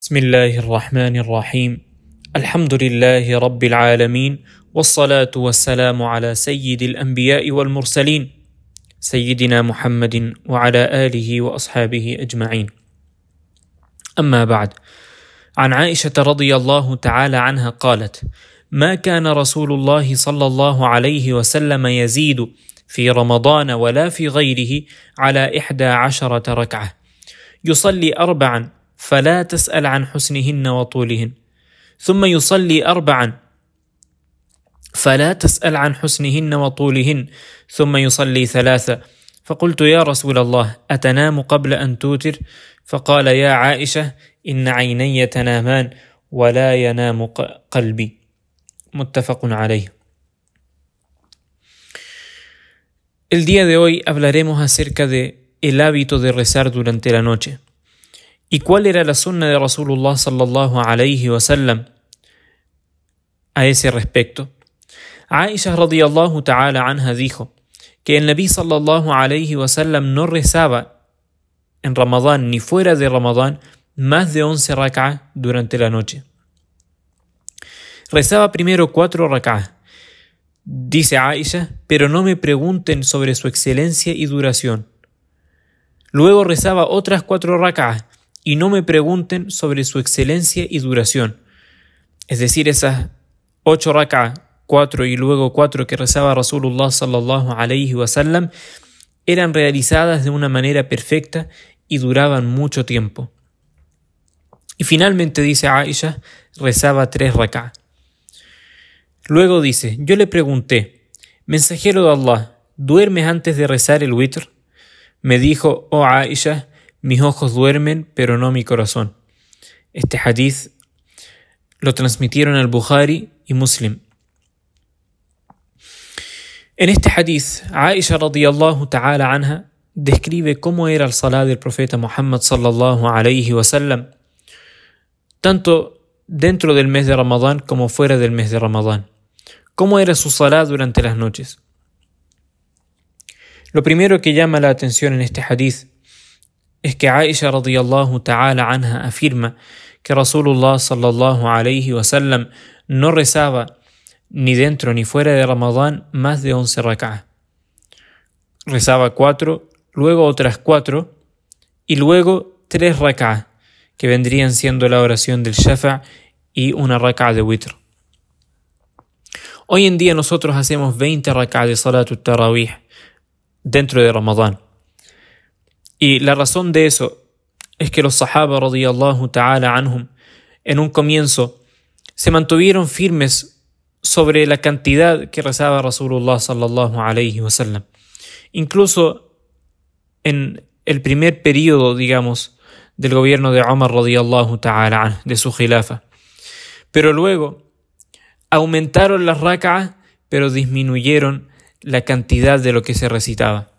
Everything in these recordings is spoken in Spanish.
بسم الله الرحمن الرحيم الحمد لله رب العالمين والصلاة والسلام على سيد الأنبياء والمرسلين سيدنا محمد وعلى آله وأصحابه أجمعين. أما بعد، عن عائشة رضي الله تعالى عنها قالت: ما كان رسول الله صلى الله عليه وسلم يزيد في رمضان ولا في غيره على 11 ركعة، يصلي 4 فلا تسأل عن حسنهن وطولهن، ثم يصلي 4 فلا تسأل عن حسنهن وطولهن، ثم يصلي 3. فقلت: يا رسول الله، أتنام قبل أن توتر؟ فقال: يا عائشة، إن عيني تنامان ولا ينام قلبي. متفق عليه. El día de hoy hablaremos acerca de el hábito de rezar durante la noche. ¿Y cuál era la sunna de Rasulullah sallallahu alayhi wa sallam a ese respecto? Aisha radiyallahu ta'ala anha dijo que el Nabi sallallahu alayhi wa sallam no rezaba en Ramadán ni fuera de Ramadán más de 11 rak'ah durante la noche. Rezaba primero 4 rak'ah. Dice Aisha, pero no me pregunten sobre su excelencia y duración. Luego rezaba otras 4 rak'ah y no me pregunten sobre su excelencia y duración. Es decir, esas 8 rak'ah, 4 y luego 4 que rezaba Rasulullah sallallahu alayhi wa sallam, eran realizadas de una manera perfecta y duraban mucho tiempo. Y finalmente, dice Aisha, rezaba 3 rak'ah. Luego dice: yo le pregunté: mensajero de Allah, ¿duermes antes de rezar el witr? Me dijo: oh Aisha, mis ojos duermen, pero no mi corazón. Este hadith lo transmitieron al Bukhari y Muslim. En este hadith, Aisha radiyallahu ta'ala anha describe cómo era el salat del profeta Muhammad sallallahu alayhi wa sallam, tanto dentro del mes de Ramadán como fuera del mes de Ramadán. Cómo era su salat durante las noches. Lo primero que llama la atención en este hadith es que Aisha radiyallahu ta'ala anha afirma que Rasulullah sallallahu alayhi wa sallam no rezaba ni dentro ni fuera de Ramadán más de 11 rak'ah. Rezaba 4, luego otras 4 y luego 3 rak'ah, que vendrían siendo la oración del shafa' y una rak'ah de witr. Hoy en día nosotros hacemos 20 rak'ah de salatut tarawih dentro de Ramadán. Y la razón de eso es que los sahaba radiyallahu ta'ala anhum en un comienzo se mantuvieron firmes sobre la cantidad que rezaba Rasulullah sallallahu alayhi wa sallam. Incluso en el primer periodo, digamos, del gobierno de Umar radiyallahu ta'ala anhu, de su khilafa. Pero luego aumentaron las rak'ah, pero disminuyeron la cantidad de lo que se recitaba.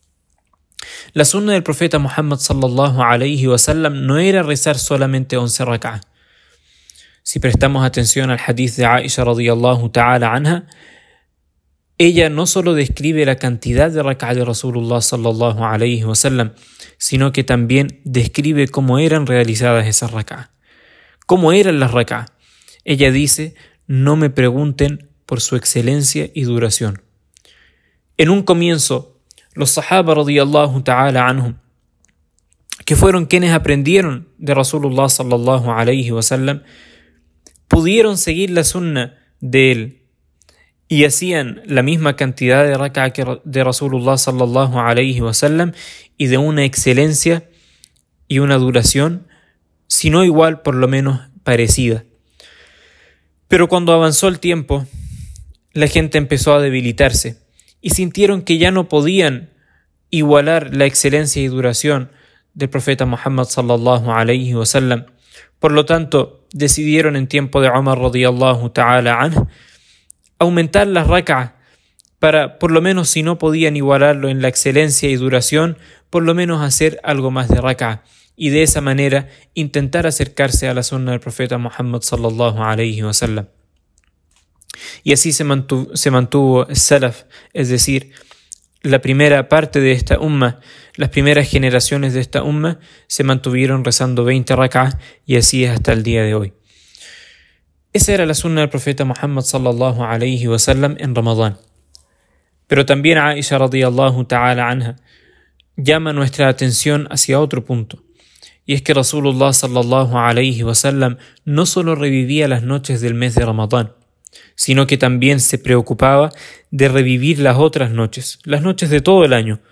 La sunna del profeta Muhammad sallallahu alayhi wa sallam no era rezar solamente 11 rak'ah. Si prestamos atención al hadith de Aisha radiyallahu ta'ala anha, ella no solo describe la cantidad de rak'ah de Rasulullah sallallahu alayhi wa sallam, sino que también describe cómo eran realizadas esas rak'ah. ¿Cómo eran las rak'ah? Ella dice: no me pregunten por su excelencia y duración. En un comienzo, los sahaba radiyallahu ta'ala anhum, que fueron quienes aprendieron de Rasulullah sallallahu alayhi wa sallam, pudieron seguir la sunna de él y hacían la misma cantidad de rak'ah de Rasulullah sallallahu alayhi wa sallam y de una excelencia y una duración, si no igual, por lo menos parecida. Pero cuando avanzó el tiempo, la gente empezó a debilitarse y sintieron que ya no podían igualar la excelencia y duración del profeta Muhammad sallallahu alayhi wa sallam. Por lo tanto, decidieron en tiempo de Umar radiyallahu ta'ala anhu aumentar las rak'ah para, por lo menos si no podían igualarlo en la excelencia y duración, por lo menos hacer algo más de rak'ah, y de esa manera intentar acercarse a la sunna del profeta Muhammad sallallahu alayhi wa sallam. Y así se mantuvo el salaf, es decir, la primera parte de esta umma, las primeras generaciones de esta umma, se mantuvieron rezando 20 rak'ah y así es hasta el día de hoy. Esa era la sunna del profeta Muhammad sallallahu alayhi wa sallam en Ramadán. Pero también Aisha radiyallahu ta'ala anha llama nuestra atención hacia otro punto. Y es que Rasulullah sallallahu alayhi wa sallam no solo revivía las noches del mes de Ramadán, sino que también se preocupaba de revivir las otras noches, las noches de todo el año.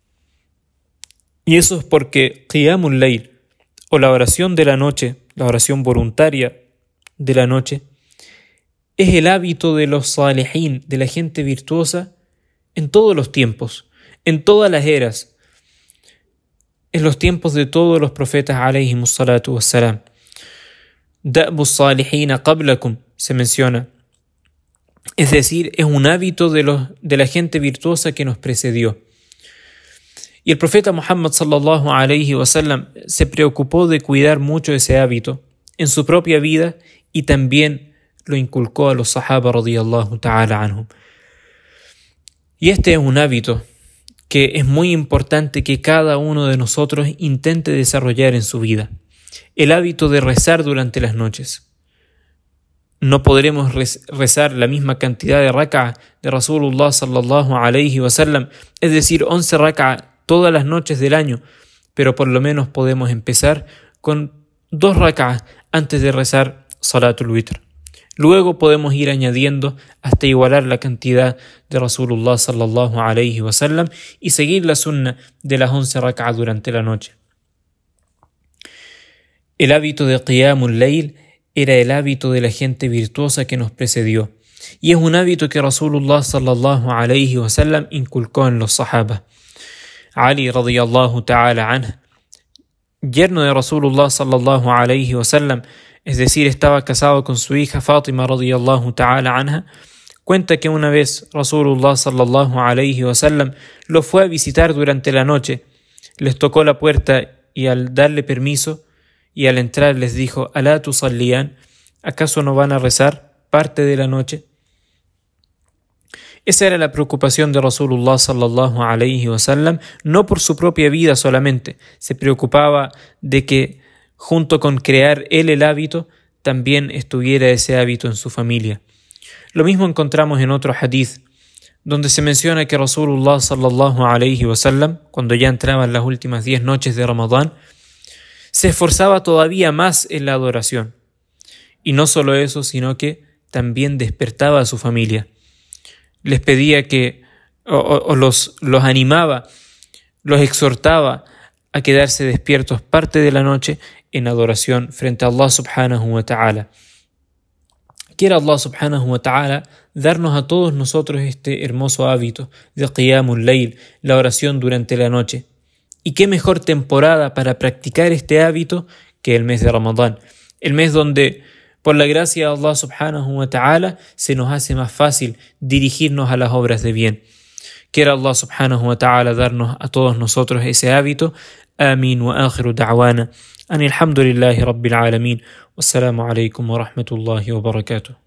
Y eso es porque Qiyamul Layl, o la oración de la noche, la oración voluntaria de la noche, es el hábito de los salihin, de la gente virtuosa, en todos los tiempos, en todas las eras, en los tiempos de todos los profetas alayhimus salatu wassalam. Da'bus salihina qablakum se menciona. Es decir, es un hábito de la gente virtuosa que nos precedió. Y el profeta Muhammad sallallahu alayhi wa sallam se preocupó de cuidar mucho ese hábito en su propia vida y también lo inculcó a los sahaba radiyallahu ta'ala anhum. Y este es un hábito que es muy importante que cada uno de nosotros intente desarrollar en su vida. El hábito de rezar durante las noches. No podremos rezar la misma cantidad de rak'ah de Rasulullah sallallahu alayhi wa sallam, es decir, 11 rak'ah todas las noches del año, pero por lo menos podemos empezar con 2 rak'ah antes de rezar Salatul Witr. Luego podemos ir añadiendo hasta igualar la cantidad de Rasulullah sallallahu alayhi wa sallam y seguir la sunna de las 11 rak'ah durante la noche. El hábito de Qiyamul Layl era el hábito de la gente virtuosa que nos precedió, y es un hábito que Rasulullah sallallahu alayhi wa sallam inculcó en los sahaba. Ali radiyallahu ta'ala anhu, yerno de Rasulullah sallallahu alayhi wa sallam, es decir, estaba casado con su hija Fátima radiyallahu ta'ala anha, cuenta que una vez Rasulullah sallallahu alayhi wa sallam lo fue a visitar durante la noche, les tocó la puerta y al darle permiso y al entrar les dijo: ¿Alá tusalliyan? ¿Acaso no van a rezar parte de la noche? Esa era la preocupación de Rasulullah sallallahu alayhi wa sallam, no por su propia vida solamente, se preocupaba de que junto con crear él el hábito, también estuviera ese hábito en su familia. Lo mismo encontramos en otro hadith, donde se menciona que Rasulullah sallallahu alayhi wa sallam, cuando ya entraban las últimas 10 noches de Ramadán, se esforzaba todavía más en la adoración. Y no solo eso, sino que también despertaba a su familia. Les pedía que, los animaba, los exhortaba a quedarse despiertos parte de la noche en adoración frente a Allah subhanahu wa ta'ala. Quiera Allah subhanahu wa ta'ala darnos a todos nosotros este hermoso hábito de Qiyamul Layl, la oración durante la noche. Y qué mejor temporada para practicar este hábito que el mes de Ramadán, el mes donde por la gracia de Allah subhanahu wa ta'ala se nos hace más fácil dirigirnos a las obras de bien. Quiera Allah subhanahu wa ta'ala darnos a todos nosotros ese hábito. Amin wa akhiru da'wana. Alhamdulillahi rabbil alamin. Wassalamu alaikum wa rahmatullahi wa barakatuh.